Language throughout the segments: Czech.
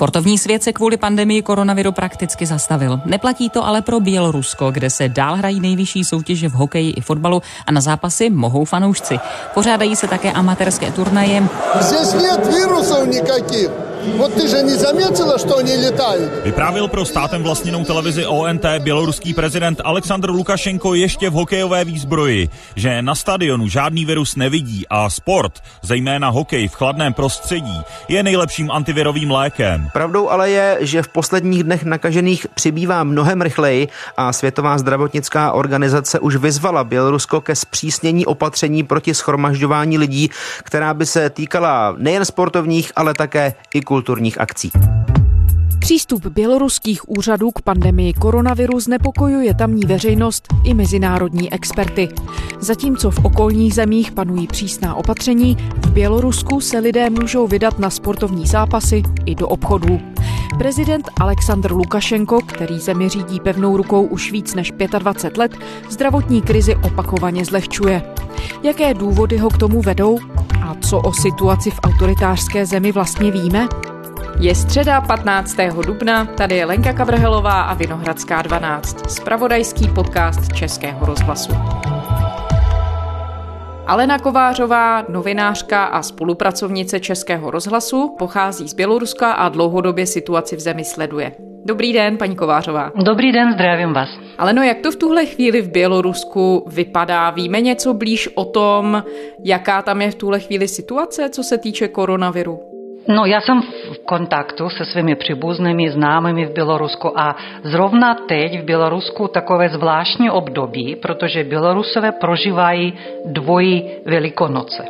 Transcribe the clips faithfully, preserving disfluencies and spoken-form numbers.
Sportovní svět se kvůli pandemii koronaviru prakticky zastavil. Neplatí to ale pro Bělorusko, kde se dál hrají nejvyšší soutěže v hokeji i fotbalu a na zápasy mohou fanoušci. Pořádají se také amatérské turnaje. Здесь нет вирусов никаких. Вот ты же не заметила, что они летают? Vyprávěl pro státem vlastněnou televizi O N T běloruský prezident Alexandr Lukašenko ještě v hokejové výzbroji, že na stadionu žádný virus nevidí a sport, zejména hokej v chladném prostředí, je nejlepším antivirovým lékem. Pravdou ale je, že v posledních dnech nakažených přibývá mnohem rychleji a Světová zdravotnická organizace už vyzvala Bělorusko ke zpřísnění opatření proti shromažďování lidí, která by se týkala nejen sportovních, ale také i kulturních akcí. Přístup běloruských úřadů k pandemii koronaviru znepokojuje tamní veřejnost i mezinárodní experty. Zatímco v okolních zemích panují přísná opatření, v Bělorusku se lidé můžou vydat na sportovní zápasy i do obchodů. Prezident Alexandr Lukašenko, který zemi řídí pevnou rukou už víc než dvacet pět let, zdravotní krizi opakovaně zlehčuje. Jaké důvody ho k tomu vedou? A co o situaci v autoritářské zemi vlastně víme? Je středa patnáctého dubna, tady je Lenka Kavrhelová a Vinohradská dvanáct, zpravodajský podcast Českého rozhlasu. Alena Kovářová, novinářka a spolupracovnice Českého rozhlasu, pochází z Běloruska a dlouhodobě situaci v zemi sleduje. Dobrý den, paní Kovářová. Dobrý den, zdravím vás. Aleno, jak to v tuhle chvíli v Bělorusku vypadá? Víme něco blíž o tom, jaká tam je v tuhle chvíli situace, co se týče koronaviru? No, já jsem v kontaktu se svými příbuznými, známými v Bělorusku a zrovna teď v Bělorusku takové zvláštní období, protože Bělorusové prožívají dvojí Velikonoce.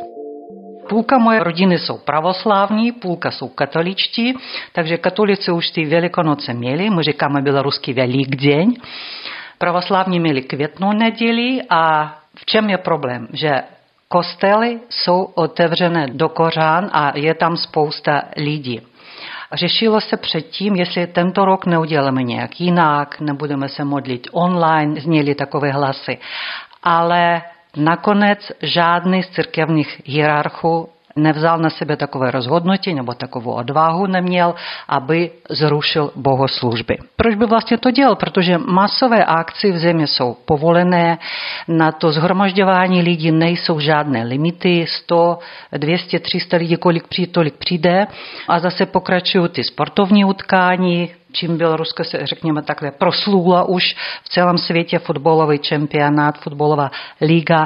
Půlka moje rodiny jsou pravoslávní, půlka jsou katoličtí, takže katolici už ty Velikonoce měli, my říkáme běloruský Velikdeň. Pravoslávní měli květnou neděli a v čem je problém? Že kostely jsou otevřené do kořán a je tam spousta lidí. Řešilo se předtím, jestli tento rok neuděláme nějak jinak, nebudeme se modlit online, zněly takové hlasy. Ale nakonec žádný z církevních hierarchů nevzal na sebe takové rozhodnutí nebo takovou odvahu neměl, aby zrušil bohoslužby. Proč by vlastně to dělal? Protože masové akce v zemi jsou povolené, na to shromažďování lidí nejsou žádné limity, sto, dvě stě, tři sta lidí, kolik přijde, tolik přijde a zase pokračují ty sportovní utkání, čím Bělorusko se, řekněme takhle, proslula už v celém světě fotbalový čempionát, fotbalová liga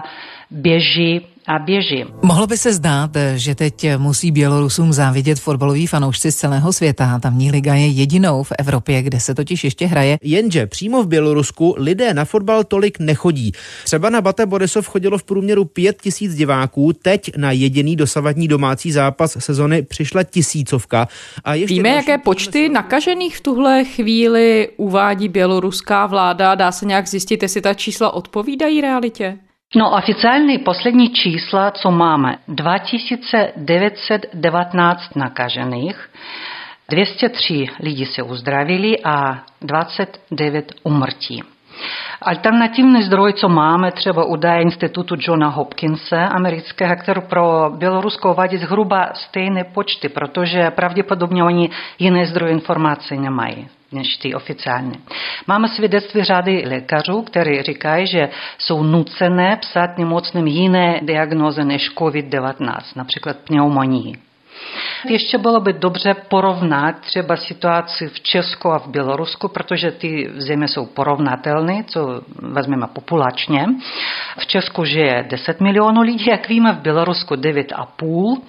běží a běží. Mohlo by se zdát, že teď musí Bělorusům závidět fotbaloví fanoušci z celého světa. Tamní liga je jedinou v Evropě, kde se totiž ještě hraje. Jenže přímo v Bělorusku lidé na fotbal tolik nechodí. Třeba na Bate Borisov chodilo v průměru pět tisíc diváků, teď na jediný dosavadní domácí zápas sezony přišla tisícovka. A ještě Víme, jaké počty nakažených v tuhle chvíli uvádí běloruská vláda? Dá se nějak zjistit, jestli ta čísla odpovídají realitě? No, oficiální poslední čísla, co máme, dva tisíce devět set devatenáct nakažených, dvě stě tři lidi se uzdravili a dvacet devět umrtí. Alternativní zdroj, co máme, třeba údaje institutu Johna Hopkinse amerického, který pro Bělorusko uvádí zhruba stejné počty, protože pravděpodobně oni jiné zdroje informací nemají než ty oficiální. Máme svědectví řady lékařů, kteří říkají, že jsou nucené psát nemocným jiné diagnózy než covid devatenáct, například pneumonii. Ještě bylo by dobře porovnat třeba situaci v Česku a v Bělorusku, protože ty země jsou porovnatelné, co vezmeme populačně. V Česku žije deset milionů lidí, jak víme, v Bělorusku devět a půl.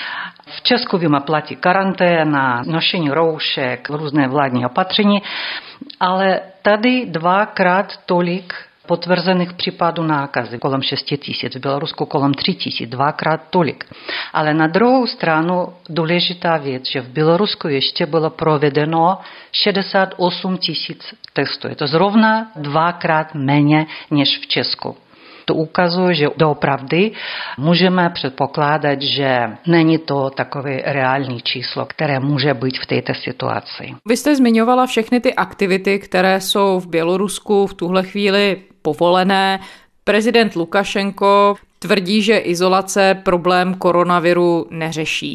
V Česku víme platí karanténa, nošení roušek, různé vládní opatření, ale tady dvakrát tolik potvrzených případů nákazy, kolem šest tisíc, v Bělorusku kolem tři tisíc, dvakrát tolik. Ale na druhou stranu důležitá věc, že v Bělorusku ještě bylo provedeno šedesát osm tisíc testů. Je to zrovna dvakrát méně než v Česku. To ukazuje, že doopravdy můžeme předpokládat, že není to takové reální číslo, které může být v této situaci. Vy jste zmiňovala všechny ty aktivity, které jsou v Bělorusku v tuhle chvíli povolené. Prezident Lukašenko tvrdí, že izolace problém koronaviru neřeší.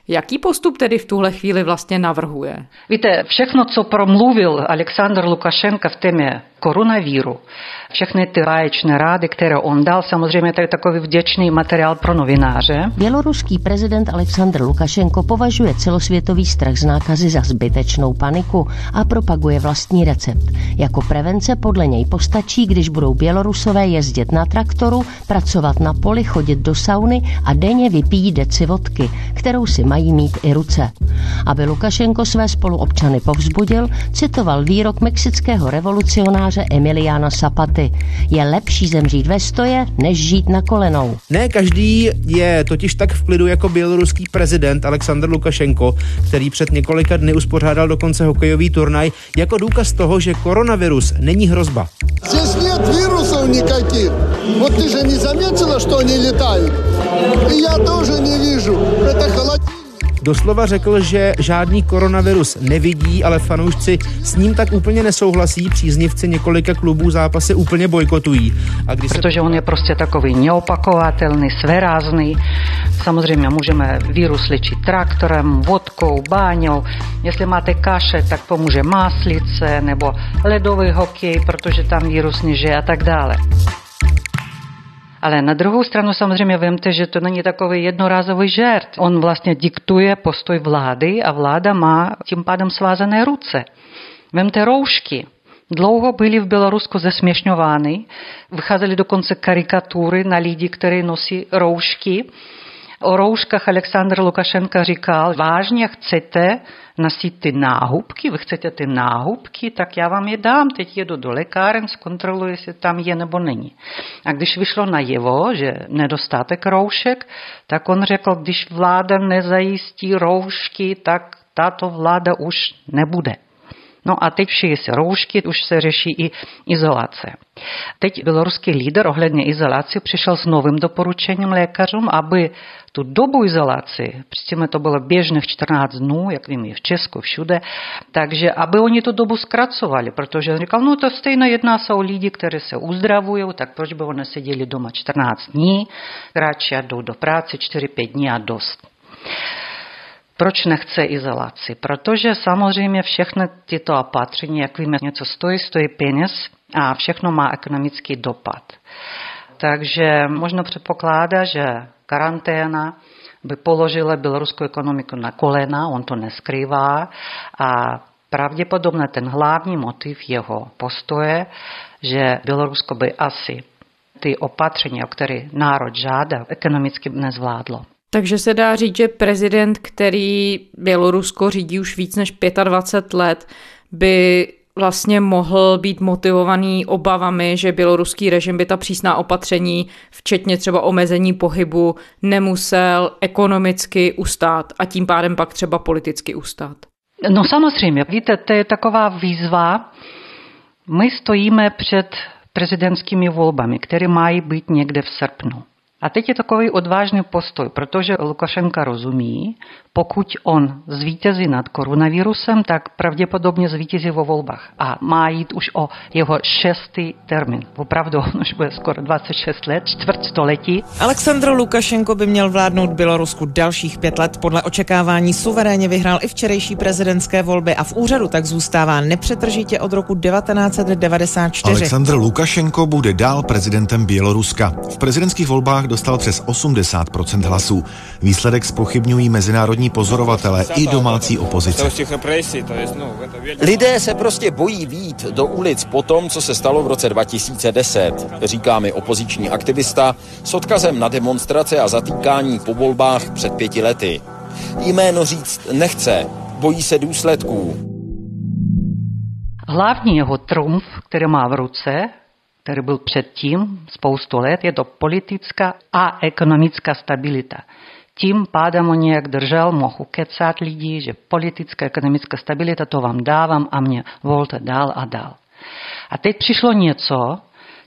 Jaký postup tedy v tuhle chvíli vlastně navrhuje? Víte, všechno, co promluvil Alexandr Lukašenko v témě koronavíru, všechny ty báječné rády, které on dal, samozřejmě to je takový vděčný materiál pro novináře. Běloruský prezident Alexandr Lukašenko považuje celosvětový strach z nákazy za zbytečnou paniku a propaguje vlastní recept. Jako prevence podle něj postačí, když budou Bělorusové jezdit na traktoru, pracovat na poli, chodit do sauny a denně vypijí deci vodky, kterou si mají mít i ruce. Aby Lukašenko své spoluobčany povzbudil, citoval výrok mexického revolucionáře Emiliana Zapaty. Je lepší zemřít ve stoje, než žít na kolenou. Ne každý je totiž tak v klidu jako běloruský prezident Alexandr Lukašenko, který před několika dny uspořádal dokonce hokejový turnaj jako důkaz toho, že koronavirus není hrozba. Здесь нет вирусов никаких. Вот ты же не заметила, что они летают? И я тоже не вижу. Это холодильник. Doslova řekl, že žádný koronavirus nevidí, ale fanoušci s ním tak úplně nesouhlasí, příznivci několika klubů zápasy úplně bojkotují. A když Protože se... on je prostě takový neopakovatelný, svérázný. Samozřejmě můžeme virus léčit traktorem, vodkou, báňou. Jestli máte kaše, tak pomůže máslice nebo ledový hokej, protože tam virus nežije a tak dále. Ale na druhou stranu samozřejmě vemte, že to není takový jednorázový žert. On vlastně diktuje postoj vlády a vláda má tím pádem svázané ruce. Vemte roušky. Dlouho byly v Bělorusku zesměšňovány. Vycházely dokonce karikatury na lidi, kteří nosí roušky. O rouškách Alexandr Lukašenko říkal, vážně chcete nosit ty náhubky, vy chcete ty náhubky, tak já vám je dám, teď jedu do lékáren, zkontroluji, jestli tam je nebo není. A když vyšlo najevo, že nedostatek roušek, tak on řekl, když vláda nezajistí roušky, tak tato vláda už nebude. No a teď šije se roušky, už se řeší i izolace. Teď běloruský lídr ohledně izolace přišel s novým doporučením lékařům, aby tu dobu izolace, předtím to bylo běžných čtrnáct dnů, jak vím, je v Česku, všude, takže aby oni tu dobu zkracovali, protože on říkal, no to stejně jedná se o lidi, kteří se uzdravují, tak proč by oni seděli doma čtrnáct dní, radši jdou do práce čtyři pět dní a dost. Proč nechce izolaci? Protože samozřejmě všechny tyto opatření, jak víme, něco stojí, stojí peněz a všechno má ekonomický dopad. Takže možno předpokládá, že karanténa by položila běloruskou ekonomiku na kolena, on to neskrývá a pravděpodobně ten hlavní motiv jeho postoje, že Bělorusko by asi ty opatření, o které národ žádá, ekonomicky nezvládlo. Takže se dá říct, že prezident, který Bělorusko řídí už víc než dvacet pět let, by vlastně mohl být motivovaný obavami, že běloruský režim by ta přísná opatření, včetně třeba omezení pohybu, nemusel ekonomicky ustát a tím pádem pak třeba politicky ustát. No samozřejmě, víte, to je taková výzva. My stojíme před prezidentskými volbami, které mají být někde v srpnu. A teď je takový odvážný postoj, protože Lukašenko rozumí, pokud on zvítězí nad koronavirusem, tak pravděpodobně zvítězí vo volbách. A má jít už o jeho šestý termín. Opravdu, on už bude skoro dvacet šest let, čtvrt století. Alexandr Lukašenko by měl vládnout Bělorusku dalších pět let. Podle očekávání suverénně vyhrál i včerejší prezidentské volby a v úřadu tak zůstává nepřetržitě od roku devatenáct set devadesát čtyři. Alexandr Lukašenko bude dál prezidentem Běloruska. V prezidentských volbách dostal přes osmdesát procent hlasů. Výsledek zpochybňují mezinárodní pozorovatelé i domácí opozice. Lidé se prostě bojí vyjít do ulic po tom, co se stalo v roce dva tisíce deset, říká mi opoziční aktivista s odkazem na demonstrace a zatýkání po volbách před pěti lety. Jméno říct nechce, bojí se důsledků. Hlavní jeho trumf, který má v ruce, který byl předtím spoustu let, je to politická a ekonomická stabilita. Tím pádem on nějak držel, mohu kecat lidí, že politická, ekonomická stabilita, to vám dávám a mě volte dál a dál. A teď přišlo něco,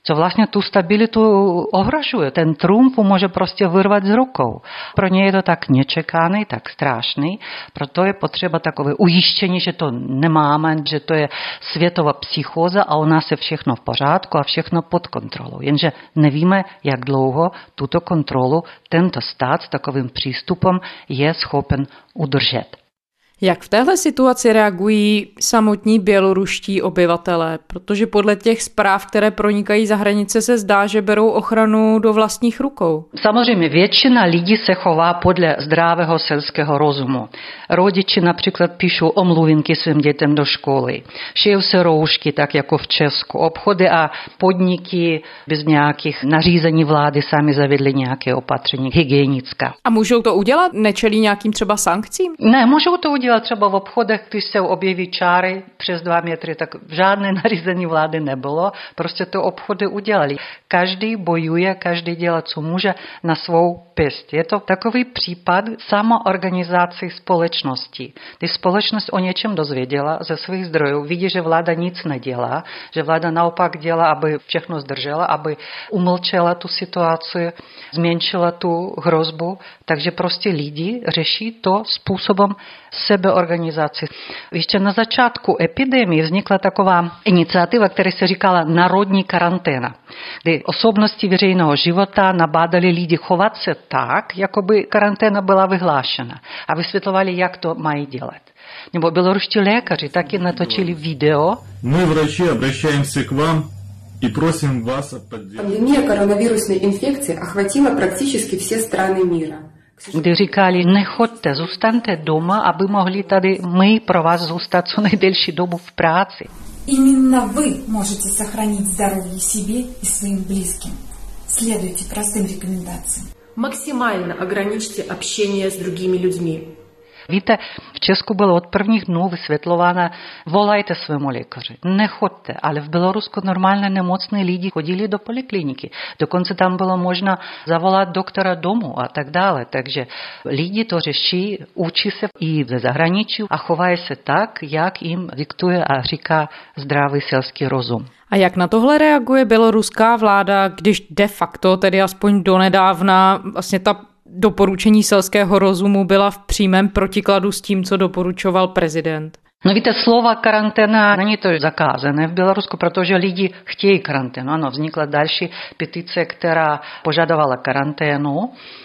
co vlastně tu stabilitu ohrožuje. Ten Trump může prostě vyrvat z rukou. Pro ně je to tak nečekaný, tak strašný, proto je potřeba takové ujištění, že to nemáme, že to je světová psychóza a u nás je všechno v pořádku a všechno pod kontrolou. Jenže nevíme, jak dlouho tuto kontrolu tento stát s takovým přístupem je schopen udržet. Jak v téhle situaci reagují samotní běloruští obyvatelé? Protože podle těch zpráv, které pronikají za hranice, se zdá, že berou ochranu do vlastních rukou. Samozřejmě většina lidí se chová podle zdravého selského rozumu. Rodiči například píšou omluvinky svým dětem do školy. Šijou se roušky, tak jako v Česku. Obchody a podniky bez nějakých nařízení vlády sami zavedli nějaké opatření hygienická. A můžou to udělat? Nečelí nějakým třeba sankcím? Ne, můžou to udělat třeba v obchodech, když se objeví čáry přes dva metry, tak žádné nařízení vlády nebylo, prostě to obchody udělali. Každý bojuje, každý dělá, co může na svou pěst. Je to takový případ samoorganizace společnosti. Když společnost o něčem dozvěděla ze svých zdrojů, vidí, že vláda nic nedělá, že vláda naopak dělá, aby všechno zdržela, aby umlčela tu situaci, zmenšila tu hrozbu, takže prostě lidi řeší to způsobem sebeorganizace. Ještě na začátku epidemie vznikla taková iniciativa, která se říkala národní karanténa, kdy osobnosti veřejného života nabádali lidi chovat se tak, jako by karanténa byla vyhlášena a vysvětlovali, jak to mají dělat. Nebo běloruští lékaři taky natočili video. My врачи обращаемся к вам и просим вас о поддержке. Пандемия коронавирусной инфекции охватила практически все страны мира. Kdy říkali, nechoďte, zůstaňte doma, aby mohli tady my pro vás zůstat co nejdelší dobu v práci. Именно вы можете сохранить здоровье себе и своим близким. Следуйте простым рекомендациям. Максимально ограничьте общение с другими людьми. Víte, v Česku bylo od prvních dnů vysvětlováno, volajte svému lékaři, nechoďte, ale v Bělorusku normálně nemocní lidi chodili do polikliniky. Dokonce tam bylo možno zavolat doktora domů a tak dále. Takže lidi to řeší, učí se i ze zahraničí a chovají se tak, jak jim diktuje a říká zdravý selský rozum. A jak na tohle reaguje běloruská vláda, když de facto, tedy aspoň donedávna, vlastně ta doporučení selského rozumu byla v přímém protikladu s tím, co doporučoval prezident? No víte, slova karanténa není to zakázané v Bělorusku, protože lidi chtějí karanténu. Ano, vznikla další petice, která požadovala karanténu.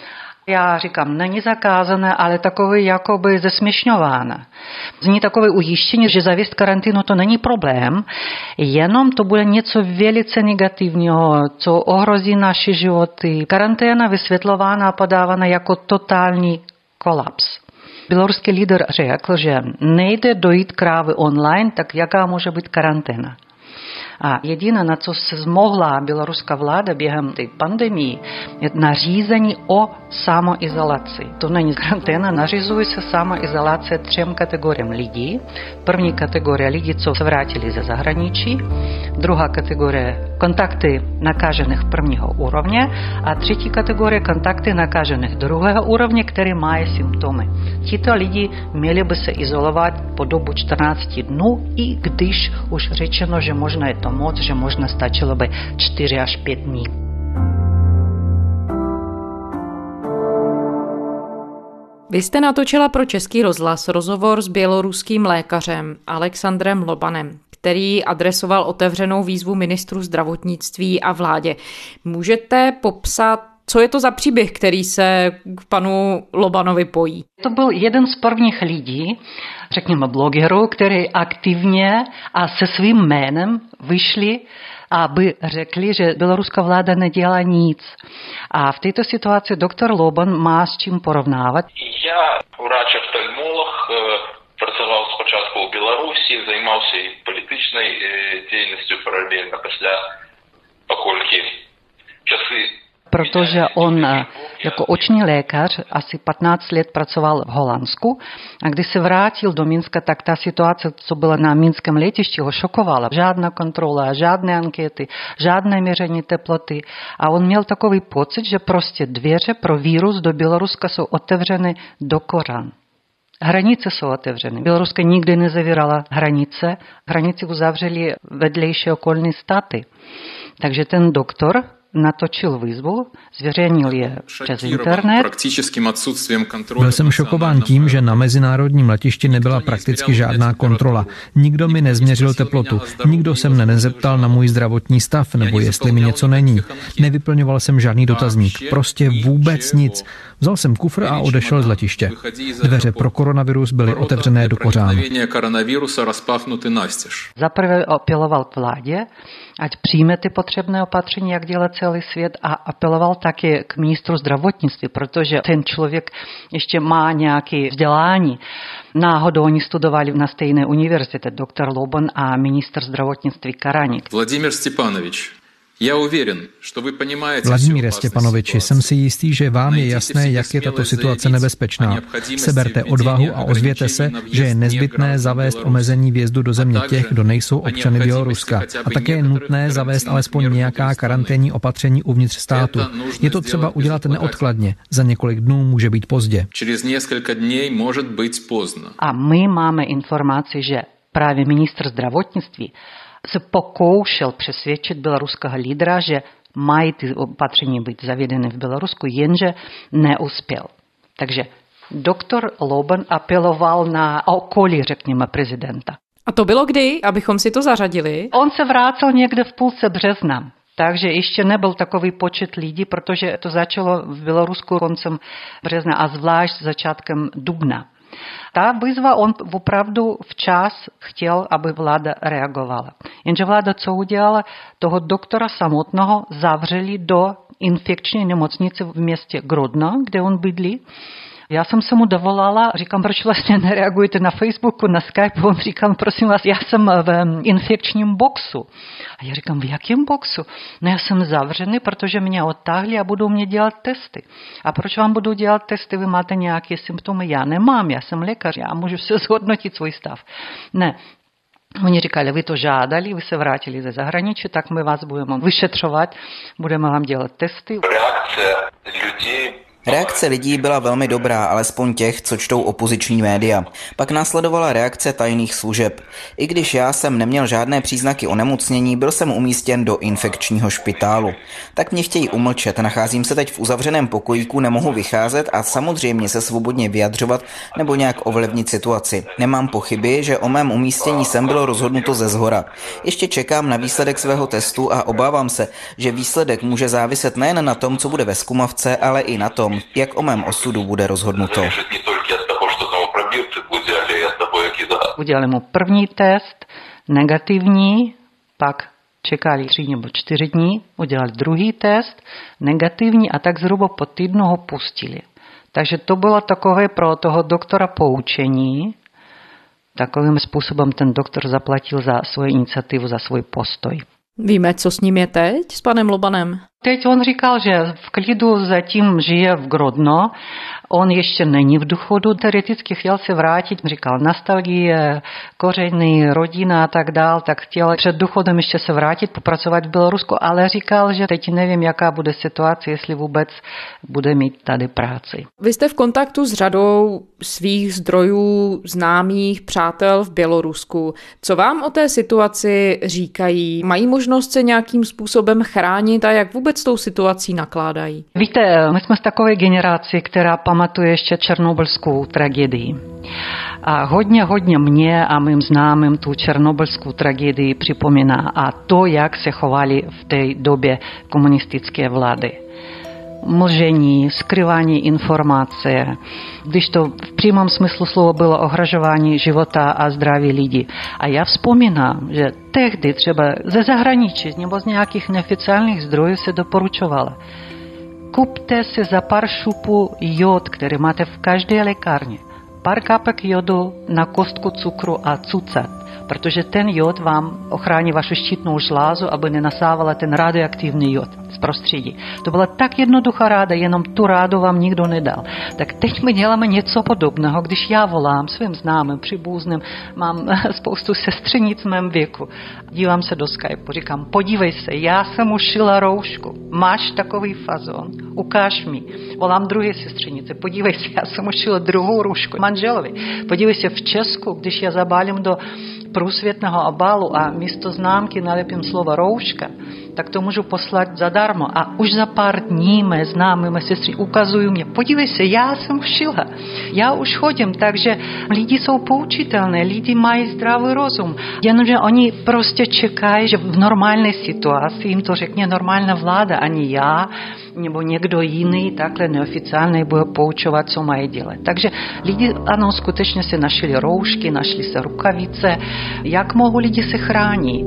Já říkám, není zakázané, ale takové jakoby zesměšňováno. Zní takové ujištění, že zavést karanténu to není problém, jenom to bude něco velice negativního, co ohrozí naše životy. Karanténa vysvětlována a podávána jako totální kolaps. Běloruský líder řekl, že nejde dojít krávy online, tak jaká může být karanténa? A jediné, na co se zmohla běloruská vláda během té pandemii, je nařízení o samoizolaci. To není karanténa, nařizuje se samoizolace třem kategoriím lidí. První kategorie lidí, co se vrátili ze zahraničí, druhá kategorie kontakty nakažených prvního úrovně a třetí kategorie kontakty nakažených druhého úrovně, které mají symptomy. Tito lidi měli by se izolovat po dobu čtrnáct dnů, i když už řečeno, že možná je to moc, že možná stačilo by čtyři až pět dní. Vy jste natočila pro Český rozhlas rozhovor s běloruským lékařem Alexandrem Lobanem, který adresoval otevřenou výzvu ministru zdravotnictví a vládě. Můžete popsat, co je to za příběh, který se k panu Lobanovi pojí? To byl jeden z prvních lidí, řekněme blogerů, který aktivně a se svým jménem vyšli, aby řekli, že běloruská vláda nedělá nic. A v této situaci doktor Loban má s čím porovnávat. Já, врач-офтальмолог, pracoval спочатку у Білорусі, займався і політичною діяльністю паралельно після, покольки часи. Protože on jako oční lékař asi patnáct let pracoval v Holandsku a když se vrátil do Minska, tak ta situace, co byla na minském letišti, ho šokovala. Žádná kontrola, žádné ankety, žádné měření teploty. A on měl takový pocit, že prostě dveře pro vírus do Běloruska jsou otevřeny do koran. Hranice jsou otevřeny. Bělorusko nikdy nezavírala hranice. Hranice uzavřely vedlejší okolní státy. Takže ten doktor natočil výzvu, zveřejnil je přes internet. Byl jsem šokován tím, že na mezinárodním letišti nebyla prakticky žádná kontrola. Nikdo mi nezměřil teplotu, nikdo se mne nezeptal na můj zdravotní stav nebo jestli mi něco není. Nevyplňoval jsem žádný dotazník, prostě vůbec nic. Vzal jsem kufr a odešel z letiště. Dveře pro koronavirus byly otevřené do kořánu. Zaprvé apeloval k vládě, ať přijme ty potřebné opatření, jak dělá celý svět, a apeloval také k ministru zdravotnictví, protože ten člověk ještě má nějaké vzdělání. Náhodou oni studovali na stejné univerzitě, doktor Loban a ministr zdravotnictví Karanik. Vladimír Stepanovič. Vladimíre Stepanoviči, jsem si jistý, že vám je jasné, jak je tato situace nebezpečná. Seberte odvahu a ozvěte se, že je nezbytné zavést omezení vjezdu do země těch, kdo nejsou občany Běloruska. A také je nutné zavést alespoň nějaká karanténní opatření uvnitř státu. Je to třeba udělat neodkladně. Za několik dnů může být pozdě. A my máme informaci, že právě ministr zdravotnictví se pokoušel přesvědčit běloruského lídra, že mají ty opatření být zavedeny v Bělorusku, jenže neuspěl. Takže doktor Loban apeloval na okolí, řekněme, prezidenta. A to bylo kdy, abychom si to zařadili? On se vrátil někde v půlce března. Takže ještě nebyl takový počet lidí, protože to začalo v Bělorusku koncem března a zvlášť začátkem dubna. Ta výzva, on opravdu včas chtěl, aby vláda reagovala. Jenže vláda co udělala? Toho doktora samotného zavřeli do infekční nemocnice v městě Grodno, kde on bydlí. Já jsem se mu dovolala, říkám, proč vlastně nereagujete na Facebooku, na Skype? On říkal, prosím vás, já jsem v infekčním boxu. A já říkám, v jakém boxu? No já jsem zavřený, protože mě odtáhli a budou mě dělat testy. A proč vám budou dělat testy? Vy máte nějaké symptomy? Já nemám, já jsem lékař, já můžu se zhodnotit svůj stav. Ne. Oni říkali, vy to žádali, vy se vrátili ze zahraničí, tak my vás budeme vyšetřovat, budeme vám dělat testy. Reakce lidí Reakce lidí byla velmi dobrá, alespoň těch, co čtou opoziční média. Pak následovala reakce tajných služeb. I když já jsem neměl žádné příznaky onemocnění, byl jsem umístěn do infekčního špitálu. Tak mě chtějí umlčet, nacházím se teď v uzavřeném pokojíku, nemohu vycházet a samozřejmě se svobodně vyjadřovat nebo nějak ovlivnit situaci. Nemám pochyby, že o mém umístění sem bylo rozhodnuto ze zhora. Ještě čekám na výsledek svého testu a obávám se, že výsledek může záviset nejen na tom, co bude ve zkumavce, ale i na tom, jak o mém osudu bude rozhodnuto. Udělali mu první test, negativní, pak čekali tři nebo čtyři dní, udělali druhý test, negativní a tak zhruba po týdnu ho pustili. Takže to bylo takové pro toho doktora poučení. Takovým způsobem ten doktor zaplatil za svoji iniciativu, za svůj postoj. Víme, co s ním je teď, s panem Lobanem? Teď on říkal, že v klidu zatím žije v Grodno, on ještě není v důchodu, teoreticky chtěl se vrátit, říkal nostalgie, kořeny, rodina a tak dál, tak chtěl před důchodem ještě se vrátit, popracovat v Bělorusku, ale říkal, že teď nevím, jaká bude situace, jestli vůbec bude mít tady práci. Vy jste v kontaktu s řadou svých zdrojů, známých, přátel v Bělorusku. Co vám o té situaci říkají? Mají možnost se nějakým způsobem chránit a jak vůbec s tou situací nakládají? Víte, my jsme z takové generace, která pamatuje ještě černobylskou tragédii. A hodně, hodně mě a mým známým tu černobylskou tragédii připomíná a to, jak se chovali v té době komunistické vlády. Mlžení, skrývání informace, když to v přímém smyslu slova bylo ohrožování života a zdraví lidí. A já vzpomínám, že tehdy třeba ze zahraničí nebo z nějakých neoficiálních zdrojů se doporučovalo. Kupte si za pár šupů jod, který máte v každé lékárně. Pár kapek jodu na kostku cukru a cucat, protože ten jod vám ochrání vašu štítnou žlázu, aby nenasávala ten radioaktivní jod z prostředí. To byla tak jednoduchá ráda, jenom tu rádu vám nikdo nedal. Tak teď my děláme něco podobného, když já volám svým známým, příbuzným, mám spoustu sestřenic v mém věku. Dívám se do Skypeu, říkám, podívej se, já jsem ušila roušku, máš takový fazon, ukáž mi. Volám druhé sestřenice, podívej se, já jsem ušila druhou roušku manželovi. Podívej se, v Česku, když já zabálím do průsvětného obalu a místo známky nalepím slovo rouška, tak to můžu poslat zadarmo. A už za pár dní mé známé, mé sestry ukazují mě, podívej se, já jsem šila, já už chodím, takže lidi jsou poučitelné, lidi mají zdravý rozum. Jenomže oni prostě čekají, že v normální situaci jim to řekne normální vláda, ani já, nebo někdo jiný, takhle neoficiálně bude poučovat, co mají dělat. Takže lidi, ano, skutečně si našli roušky, našli se rukavice. Jak mohou lidi se chránit?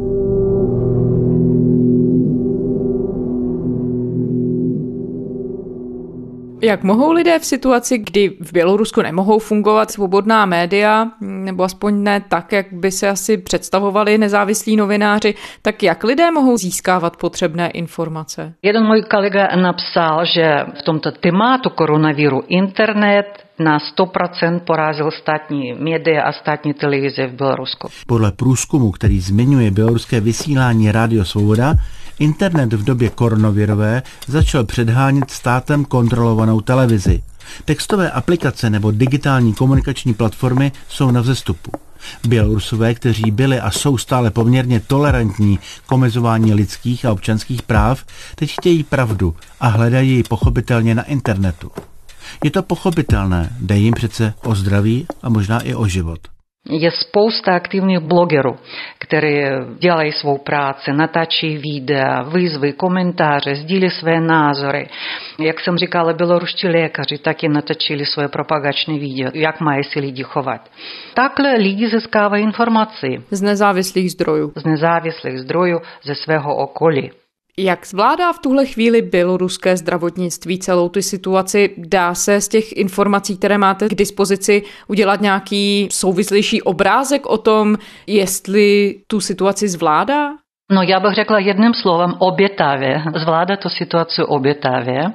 Jak mohou lidé v situaci, kdy v Bělorusku nemohou fungovat svobodná média, nebo aspoň ne tak, jak by se asi představovali nezávislí novináři, tak jak lidé mohou získávat potřebné informace? Jeden můj kolega napsal, že v tomto tématu koronaviru internet na sto procent porazil státní média a státní televize v Bělorusku. Podle průzkumu, který zmiňuje běloruské vysílání Rádio Svoboda, internet v době koronavirové začal předhánět státem kontrolovanou televizi. Textové aplikace nebo digitální komunikační platformy jsou na vzestupu. Bělorusové, kteří byli a jsou stále poměrně tolerantní k omezování lidských a občanských práv, teď chtějí pravdu a hledají ji pochopitelně na internetu. Je to pochopitelné, jde jim přece o zdraví a možná i o život. Je spousta aktivních blogerů, kteří dělají svou práci, natáčí videa, výzvy, komentáře, sdílí své názory. Jak jsem říkala, běloruští lékaři taky natáčili svoje propagační video, jak mají si lidi chovat. Takhle lidi získávají informace. Z nezávislých zdrojů. Z nezávislých zdrojů ze svého okolí. Jak zvládá v tuhle chvíli běloruské zdravotnictví celou tu situaci? Dá se z těch informací, které máte k dispozici, udělat nějaký souvislejší obrázek o tom, jestli tu situaci zvládá? No já bych řekla jedním slovem obětavě. Zvládá tu situaci obětavě.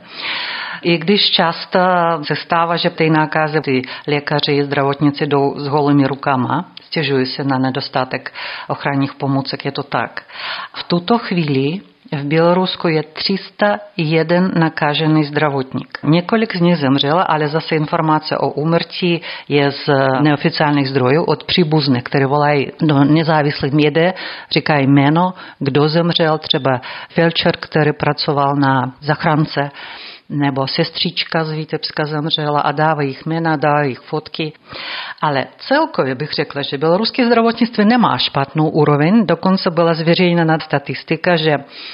I když často se stává, že ty nákazy ty lékaři i zdravotníci jdou s holými rukama, stěžují se na nedostatek ochranných pomůcek, je to tak. V tuto chvíli v Bělorusku je tři sta jedna nakažený zdravotník. Několik z nich zemřelo, ale zase informace o úmrtí je z neoficiálních zdrojů od příbuzných, které volají do nezávislých médií, říkají jméno, kdo zemřel, třeba felčer, který pracoval na zachránce, nebo sestřička z Vitebska zemřela a dávají jich jména, dávají jich fotky. Ale celkově bych řekla, že běloruské zdravotnictví nemá špatnou úroveň, dokonce byla zveřejněna statistika, že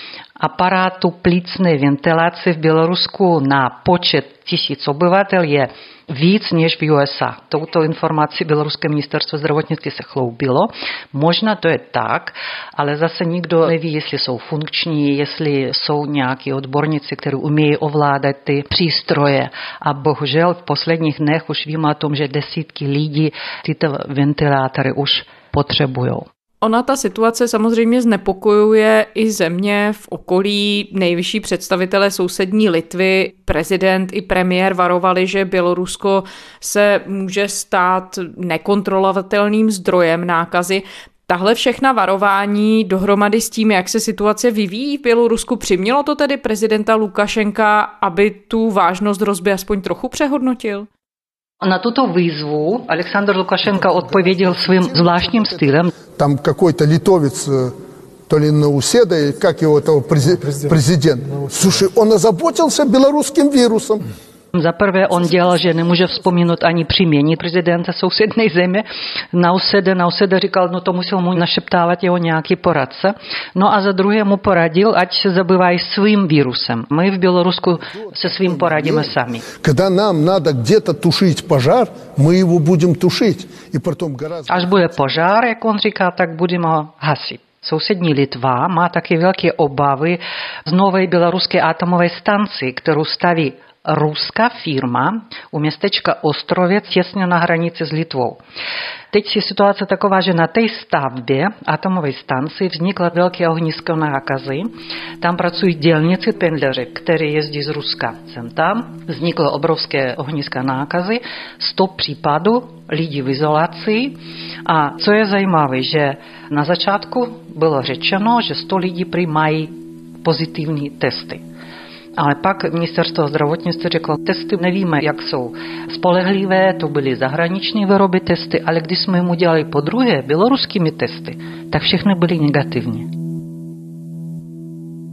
aparátu plicné ventilace v Bělorusku na počet tisíc obyvatel je víc než v U S A. Touto informací Běloruské ministerstvo zdravotnictví se chloubilo. Možná to je tak, ale zase nikdo neví, jestli jsou funkční, jestli jsou nějaký odborníci, kteří umějí ovládat ty přístroje. A bohužel v posledních dnech už víme o tom, že desítky lidí tyto ventilátory už potřebují. Ona ta situace samozřejmě znepokojuje i země v okolí. Nejvyšší představitelé sousední Litvy, prezident i premiér varovali, že Bělorusko se může stát nekontrolovatelným zdrojem nákazy. Tahle všechna varování dohromady s tím, jak se situace vyvíjí v Bělorusku, přimělo to tedy prezidenta Lukašenka, aby tu vážnost hrozby aspoň trochu přehodnotil? Na tuto výzvu Alexandr Lukašenko odpověděl svým zvláštním stylem. Tam какой-то литовец, то ли Науседа, как его того президент. Слушай, он озаботился белорусским вирусом. Za prvé on dělal, že nemůže vzpomínat ani příjmení prezidenta sousedné země. Nauseda, Nauseda říkal, no to musel mu našeptávat jeho nějaký poradce. No a za druhé mu poradil, ať se zabývají svým vírusem. My v Bělorusku se svým poradíme sami. Когда нам надо где-то тушить пожар, мы его будем тушить. И потом гораздо... Až bude požár, jak on říká, tak budeme ho hasit. Sousední Litva má taky velké obavy z nové běloruské atomové stanci, kterou staví ruská firma u městečka Ostrovec těsně na hranici s Litvou. Teď je situace taková, že na té stavbě atomové stanice vzniklo velké ohnisko nákazy. Tam pracují dělníci pendleři, kteří jezdí z Ruska. Sem tam vzniklo obrovské ohnisko nákazy, sto případů, lidi v izolaci. A co je zajímavé, že na začátku bylo řečeno, že sto lidí přijímají pozitivní testy. Ale pak ministerstvo zdravotnictví řeklo, testy nevíme, jak jsou spolehlivé, to byly zahraniční výroby testy, ale když jsme jim udělali po druhé běloruskými testy, tak všechny byly negativní.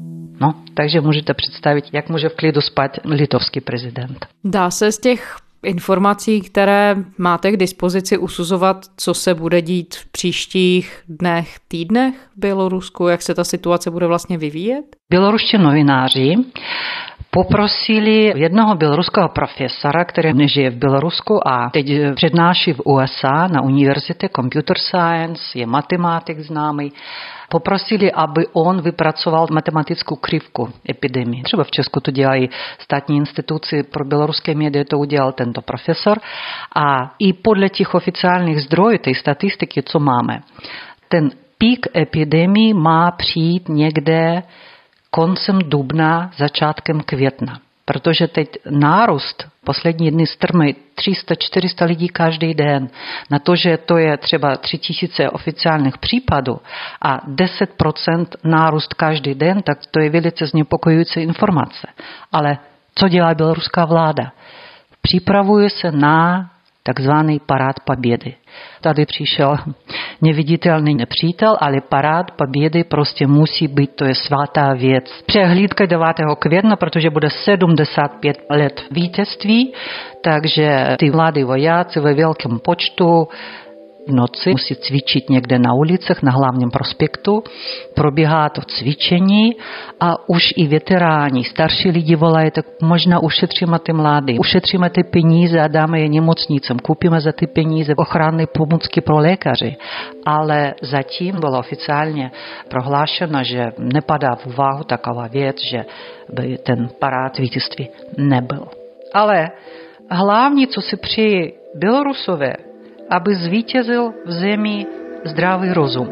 No, takže můžete představit, jak může v klidu spát litovský prezident. Dá se z těch informací, které máte k dispozici, usuzovat, co se bude dít v příštích dnech, týdnech v Bělorusku, jak se ta situace bude vlastně vyvíjet? Běloruští novináři poprosili jednoho běloruského profesora, který nežije v Bělorusku a teď přednáší v U S A na univerzitě Computer Science, je matematik známý, poprosili, aby on vypracoval matematickou křivku epidemie. Třeba v Česku to dělají státní instituci pro běloruské média, to udělal tento profesor. A i podle těch oficiálních zdrojů, té statistiky, co máme, ten pík epidemie má přijít někde koncem dubna, začátkem května. Protože teď nárůst poslední dny strmý tři sta čtyři sta lidí každý den. Na to, že to je třeba tři tisíce oficiálních případů a deset procent nárůst každý den, tak to je velice znepokojující informace. Ale co dělá běloruská vláda? Připravuje se na takzvaný parád pobědy. Tady přišel neviditelný nepřítel, ale parád pobědy prostě musí být, to je svatá věc. Přehlídka devátého května, protože bude sedmdesát pět let vítězství, takže ty mladí vojáci ve velkém počtu v noci musí cvičit někde na ulicích, na hlavním prospektu. Probíhá to cvičení a už i veteráni, starší lidi volají, tak možná ušetříme ty mladí, ušetříme ty peníze a dáme je nemocnicím, koupíme za ty peníze ochranné pomůcky pro lékaři. Ale zatím bylo oficiálně prohlášeno, že nepadá v úvahu taková věc, že by ten parád vítězství nebyl. Ale hlavní, co si přejí Bělorusové, aby zvítězil v zemi zdravý rozum.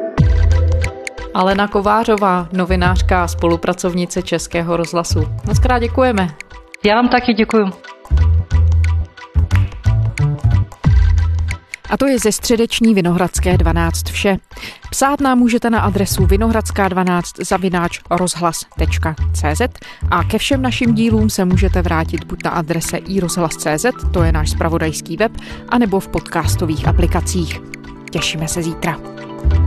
Alena Kovářová, novinářka a spolupracovnice Českého rozhlasu. Mockrát děkujeme. Já vám taky děkuju. A to je ze středeční Vinohradské dvanáct vše. Psát nám můžete na adresu vinohradská dvanáct zavináč rozhlas tečka cé zet a ke všem našim dílům se můžete vrátit buď na adrese i rozhlas tečka cé zet, to je náš zpravodajský web, anebo v podcastových aplikacích. Těšíme se zítra.